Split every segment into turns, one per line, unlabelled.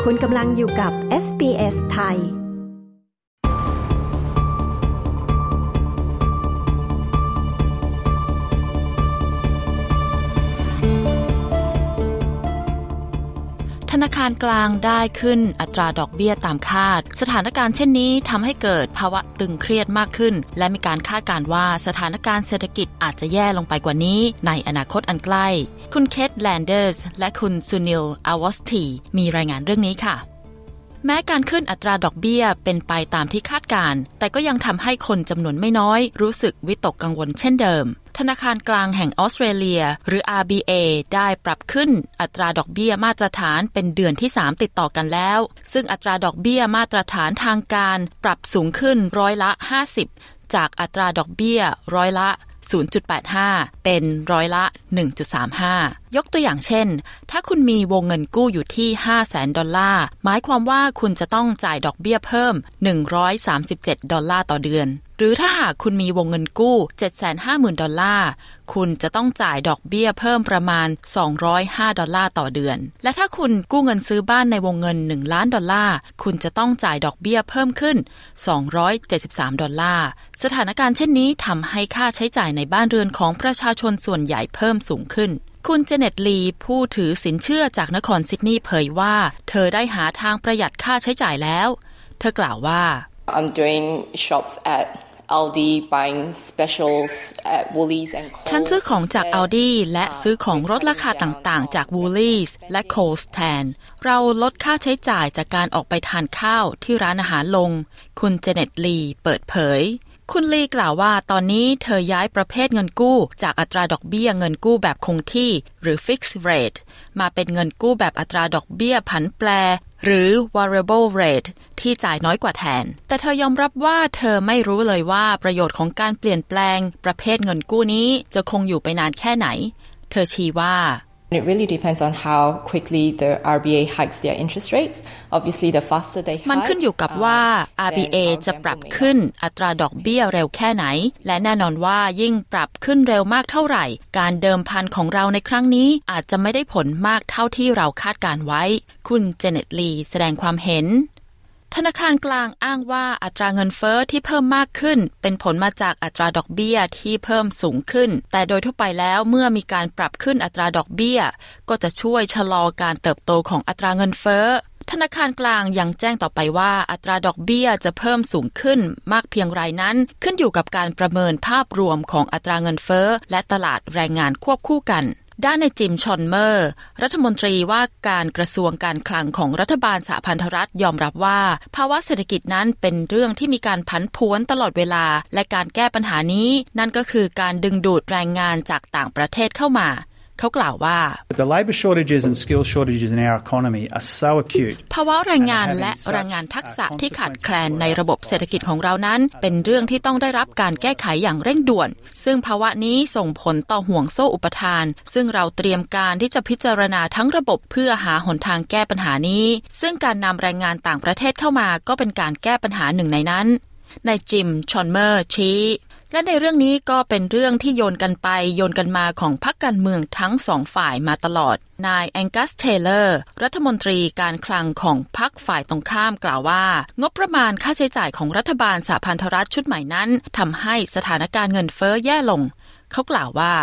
คุณกำลังอยู่กับ SBS ไทย
ธนาคารกลางได้ขึ้นอัตราดอกเบี้ยตามคาดสถานการณ์เช่นนี้ทำให้เกิดภาวะตึงเครียดมากขึ้นและมีการคาดการณ์ว่าสถานการณ์เศรษฐกิจอาจจะแย่ลงไปกว่านี้ในอนาคตอันใกล้คุณเคทแลนเดอร์สและคุณซูนิลอาวอสตีมีรายงานเรื่องนี้ค่ะแม้การขึ้นอัตราดอกเบี้ยเป็นไปตามที่คาดการณ์แต่ก็ยังทำให้คนจำนวนไม่น้อยรู้สึกวิตกกังวลเช่นเดิมธนาคารกลางแห่งออสเตรเลียหรือ RBA ได้ปรับขึ้นอัตราดอกเบี้ยมาตรฐานเป็นเดือนที่3ติดต่อกันแล้วซึ่งอัตราดอกเบี้ยมาตรฐานทางการปรับสูงขึ้นร้อยละ50จากอัตราดอกเบี้ยร้อยละ0.85 เป็นร้อยละ 1.35 ยกตัวอย่างเช่นถ้าคุณมีวงเงินกู้อยู่ที่ $500,000 หมายความว่าคุณจะต้องจ่ายดอกเบี้ยเพิ่ม$137ต่อเดือนหรือถ้าหากคุณมีวงเงินกู้ $750,000 คุณจะต้องจ่ายดอกเบี้ยเพิ่มประมาณ$205ต่อเดือนและถ้าคุณกู้เงินซื้อบ้านในวงเงิน$1 ล้านคุณจะต้องจ่ายดอกเบี้ยเพิ่มขึ้น$273สถานการณ์เช่นนี้ทำให้ค่าใช้จ่ายในบ้านเรือนของประชาชนส่วนใหญ่เพิ่มสูงขึ้นคุณเจเน็ตลีผู้ถือสินเชื่อจากนครซิดนีย์เผยว่าเธอได้หาทางประหยัดค่าใช้จ่ายแล้วเธอกล่าวว่า
I'm doing shops at Aldi buying specials at Woolies and Coles
ฉันซื้อของจาก Aldi และซื้อของลดราคาต่างๆจาก Woolies และ Coles แทนเราลดค่าใช้จ่ายจากการออกไปทานข้าวที่ร้านอาหารลงคุณเจเน็ตลีเปิดเผยคุณลีกล่าวว่าตอนนี้เธอย้ายประเภทเงินกู้จากอัตราดอกเบี้ยเงินกู้แบบคงที่หรือ fixed rate มาเป็นเงินกู้แบบอัตราดอกเบี้ยผันแปรหรือ variable rate ที่จ่ายน้อยกว่าแทนแต่เธอยอมรับว่าเธอไม่รู้เลยว่าประโยชน์ของการเปลี่ยนแปลงประเภทเงินกู้นี้จะคงอยู่ไปนานแค่ไหนเธอชี้ว่า
It really depends on how quickly the RBA hikes their interest rates. Obviously, the faster they hike,
มันขึ้นอยู่กับว่า RBA จะปรับขึ้นอัตราดอกเบี้ยเร็วแค่ไหนและแน่นอนว่ายิ่งปรับขึ้นเร็วมากเท่าไหร่การเดิมพันของเราในครั้งนี้อาจจะไม่ได้ผลมากเท่าที่เราคาดการไว้คุณเจเน็ตลีแสดงความเห็นธนาคารกลางอ้างว่าอัตราเงินเฟ้อที่เพิ่มมากขึ้นเป็นผลมาจากอัตราดอกเบี้ยที่เพิ่มสูงขึ้นแต่โดยทั่วไปแล้วเมื่อมีการปรับขึ้นอัตราดอกเบี้ยก็จะช่วยชะลอการเติบโตของอัตราเงินเฟ้อธนาคารกลางยังแจ้งต่อไปว่าอัตราดอกเบี้ยจะเพิ่มสูงขึ้นมากเพียงไรนั้นขึ้นอยู่กับการประเมินภาพรวมของอัตราเงินเฟ้อและตลาดแรงงานควบคู่กันด้านในจิมชอนเมอร์รัฐมนตรีว่าการกระทรวงการคลังของรัฐบาลสหพันธรัฐยอมรับว่าภาวะเศรษฐกิจนั้นเป็นเรื่องที่มีการผันผวนตลอดเวลาและการแก้ปัญหานี้นั่นก็คือการดึงดูดแรงงานจากต่างประเทศเข้ามาเขากล่าวว่า
The labor shortages and skill shortages in our economy are so acute
ภาวะแรงงานและแรงงานทักษะที่ขาดแคลนในระบบเศรษฐกิจของเรานั้นเป็นเรื่องที่ต้องได้รับการแก้ไขอย่างเร่งด่วนซึ่งภาวะนี้ส่งผลต่อห่วงโซ่อุปทานซึ่งเราเตรียมการที่จะพิจารณาทั้งระบบเพื่อหาหนทางแก้ปัญหานี้ซึ่งการนำแรงงานต่างประเทศเข้ามาก็เป็นการแก้ปัญหาหนึ่งในนั้นนายจิมชอนเมอร์ชี้และในเรื่องนี้ก็เป็นเรื่องที่โยนกันไปโยนกันมาของพรรคการเมืองทั้งสองฝ่ายมาตลอดนายแองกัสเทเลอร์รัฐมนตรีการคลังของพรรคฝ่ายตรงข้ามกล่าวว่างบประมาณค่าใช้จ่ายของรัฐบาลสหพันธรัฐชุดใหม่นั้นทำให้สถานการณ์เงินเฟ้อแย่ลงเขากล่าวว่า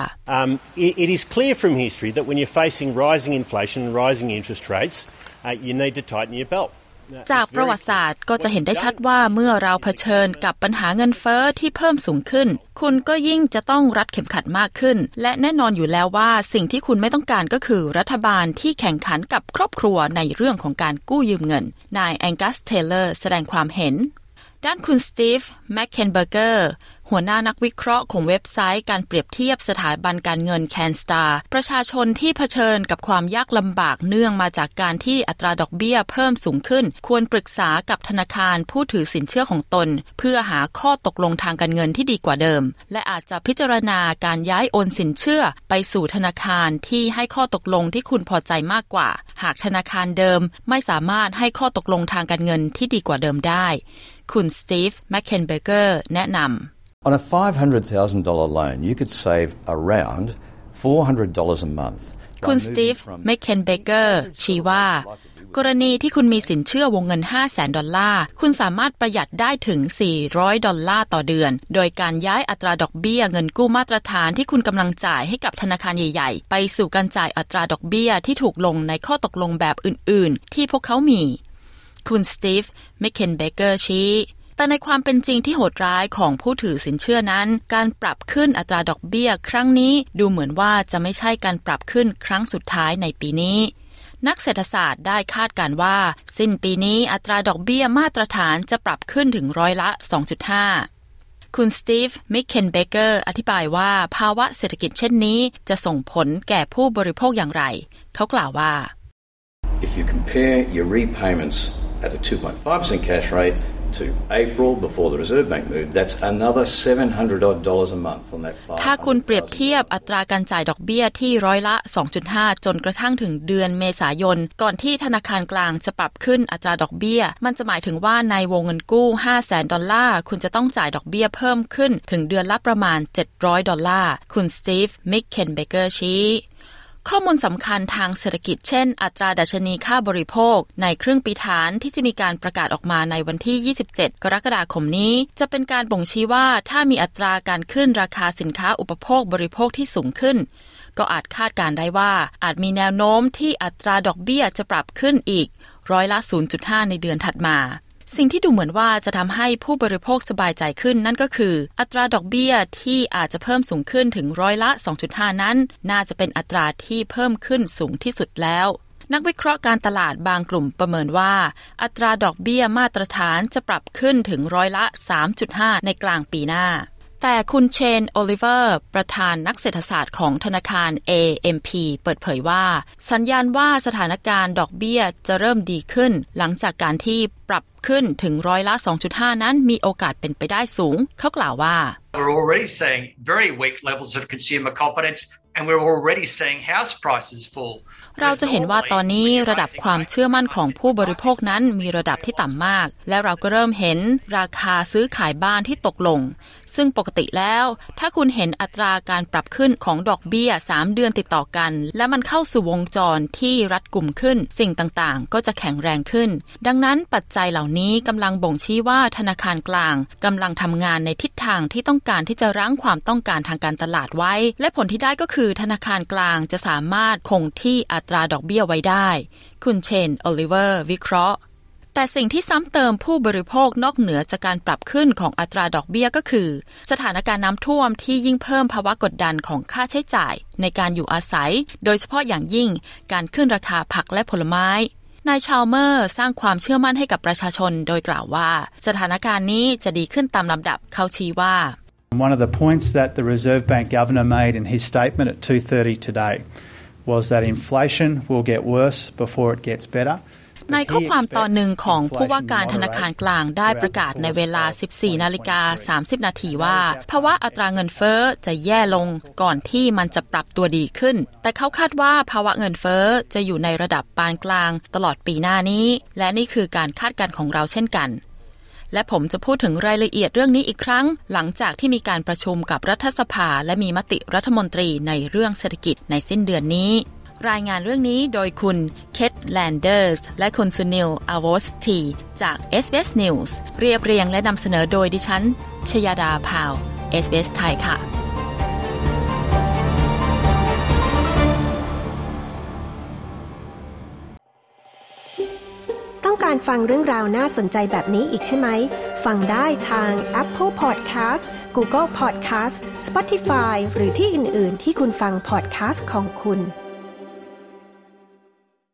It is clear from history that when you're facing rising inflation and rising interest rates, you need to tighten your belt.
จากประวัติศาสตร์ก็จะเห็นได้ชัดว่าเมื่อเราเผชิญกับปัญหาเงินเฟ้อที่เพิ่มสูงขึ้นคุณก็ยิ่งจะต้องรัดเข็มขัดมากขึ้นและแน่นอนอยู่แล้วว่าสิ่งที่คุณไม่ต้องการก็คือรัฐบาลที่แข่งขันกับครอบครัวในเรื่องของการกู้ยืมเงินนายแองกัสเทเลอร์แสดงความเห็นด้านคุณสตีฟแมคเคนเบอร์เกอร์หัวหน้านักวิเคราะห์ของเว็บไซต์การเปรียบเทียบสถาบันการเงิน CanStar ประชาชนที่เผชิญกับความยากลำบากเนื่องมาจากการที่อัตราดอกเบี้ยเพิ่มสูงขึ้นควรปรึกษากับธนาคารผู้ถือสินเชื่อของตนเพื่อหาข้อตกลงทางการเงินที่ดีกว่าเดิมและอาจจะพิจารณาการย้ายโอนสินเชื่อไปสู่ธนาคารที่ให้ข้อตกลงที่คุณพอใจมากกว่าหากธนาคารเดิมไม่สามารถให้ข้อตกลงทางการเงินที่ดีกว่าเดิมได้คุณสตีฟแมคเคนเบอร์เกอร์แนะนำ
On a $500,000 loan, you could save around $400 a month.
คุณสตีฟแมคเคนเบเกอร์ชี้ว่ากรณีที่คุณมีสินเชื่อวงเงิน $500,000 คุณสามารถประหยัดได้ถึง$400ต่อเดือนโดยการย้ายอัตราดอกเบี้ยเงินกู้มาตรฐานที่คุณกำลังจ่ายให้กับธนาคารใหญ่ๆไปสู่การจ่ายอัตราดอกเบี้ยที่ถูกลงในข้อตกลงแบบอื่นๆที่พวกเขามีคุณสตีฟ แมคเคนเบเกอร์ชี้แต่ในความเป็นจริงที่โหดร้ายของผู้ถือสินเชื่อนั้นการปรับขึ้นอัตราดอกเบี้ยครั้งนี้ดูเหมือนว่าจะไม่ใช่การปรับขึ้นครั้งสุดท้ายในปีนี้นักเศรษฐศาสตร์ได้คาดการณ์ว่าสิ้นปีนี้อัตราดอกเบี้ยมาตรฐานจะปรับขึ้นถึง2.5%คุณสตีฟ แมคเคนเบเกอร์อธิบายว่าภาวะเศรษฐกิจเช่นนี้จะส่งผลแก่ผู้บริโภคอย่างไรเขากล่าวว่า
If you compare your repayments at a 2.5% cash rate to April before the Reserve Bank moved, that's another $700 a month on that $500,000.
ถ้าคุณเปรียบเทียบอัตราการจ่ายดอกเบี้ยที่2.5%จนกระทั่งถึงเดือนเมษายนก่อนที่ธนาคารกลางจะปรับขึ้นอัตราดอกเบี้ยมันจะหมายถึงว่าในวงเงินกู้$500,000คุณจะต้องจ่ายดอกเบี้ยเพิ่มขึ้นถึงเดือนละประมาณ$700คุณสตีฟ แมคเคนเบเกอร์ชี้ข้อมูลสำคัญทางเศรษฐกิจเช่นอัตราดัชนีค่าบริโภคในครึ่งปีฐานที่จะมีการประกาศออกมาในวันที่27กรกฎาคมนี้จะเป็นการบ่งชี้ว่าถ้ามีอัตราการขึ้นราคาสินค้าอุปโภคบริโภคที่สูงขึ้นก็อาจคาดการได้ว่าอาจมีแนวโน้มที่อัตราดอกเบี้ยจะปรับขึ้นอีก0.5%ในเดือนถัดมาสิ่งที่ดูเหมือนว่าจะทำให้ผู้บริโภคสบายใจขึ้นนั่นก็คืออัตราดอกเบี้ยที่อาจจะเพิ่มสูงขึ้นถึง2.5%นั้นน่าจะเป็นอัตราที่เพิ่มขึ้นสูงที่สุดแล้วนักวิเคราะห์การตลาดบางกลุ่มประเมินว่าอัตราดอกเบี้ยมาตรฐานจะปรับขึ้นถึง3.5%ในกลางปีหน้าแต่คุณเชน โอลิเวอร์ประธานนักเศรษฐศาสตร์ของธนาคาร AMP เปิดเผยว่าสัญญาณว่าสถานการณ์ดอกเบี้ยจะเริ่มดีขึ้นหลังจากการที่ปรับขึ้นถึง2.5% นั้นมีโอกาสเป็นไปได้สูงเขากล่าวว่า
We're already seeing very weak levels of consumer confidence and we're already seeing house prices fall.
เราจะเห็นว่าตอนนี้ระดับความเชื่อมั่นของผู้บริโภคนั้นมีระดับที่ต่ำมากและเราก็เริ่มเห็นราคาซื้อขายบ้านที่ตกลงซึ่งปกติแล้วถ้าคุณเห็นอัตราการปรับขึ้นของดอกเบี้ย3เดือนติดต่อกันและมันเข้าสู่วงจรที่รัดกุมขึ้นสิ่งต่างๆก็จะแข็งแรงขึ้นดังนั้นปัจจัยเหล่านี้กำลังบ่งชี้ว่าธนาคารกลางกำลังทำงานในทิศทางที่ต้องการที่จะรั้งความต้องการทางการตลาดไว้และผลที่ได้ก็คือธนาคารกลางจะสามารถคงที่อัตราดอกเบี้ยไว้ได้คุณเชน โอลิเวอร์วิเคราะห์แต่สิ่งที่ซ้ำเติมผู้บริโภคนอกเหนือจากการปรับขึ้นของอัตราดอกเบี้ยก็คือสถานการณ์น้ำท่วมที่ยิ่งเพิ่มภาวะกดดันของค่าใช้จ่ายในการอยู่อาศัยโดยเฉพาะอย่างยิ่งการขึ้นราคาผักและผลไม้นายชาลเมอร์สร้างความเชื่อมั่นให้กับประชาชนโดยกล่าวว่าสถานการณ์นี้จะดีขึ้นตามลำดับเขาชี้ว่า
One of the points that the Reserve Bank Governor made in his statement at 2:30 today was that inflation will get worse before it gets better.
ในข้อความตอนหนึ่งของผู้ว่าการธนาคารกลางได้ประกาศในเวลา 14:30 นาทีว่าภาวะอัตราเงินเฟ้อจะแย่ลงก่อนที่มันจะปรับตัวดีขึ้นแต่เขาคาดว่าภาวะเงินเฟ้อจะอยู่ในระดับปานกลางตลอดปีหน้านี้และนี่คือการคาดการณ์ของเราเช่นกันและผมจะพูดถึงรายละเอียดเรื่องนี้อีกครั้งหลังจากที่มีการประชุมกับรัฐสภาและมีมติรัฐมนตรีในเรื่องเศรษฐกิจในสิ้นเดือนนี้รายงานเรื่องนี้โดยคุณเคทแลนเดอร์สและคุณสุนิล อาวอสตีจาก SBS News เรียบเรียงและนำเสนอโดยดิฉันชยดาพาว SBS ไทยค่ะ
ต้องการฟังเรื่องราวน่าสนใจแบบนี้อีกใช่ไหมฟังได้ทาง Apple Podcast Google Podcast Spotify หรือที่อื่นๆที่คุณฟัง podcast ของคุณ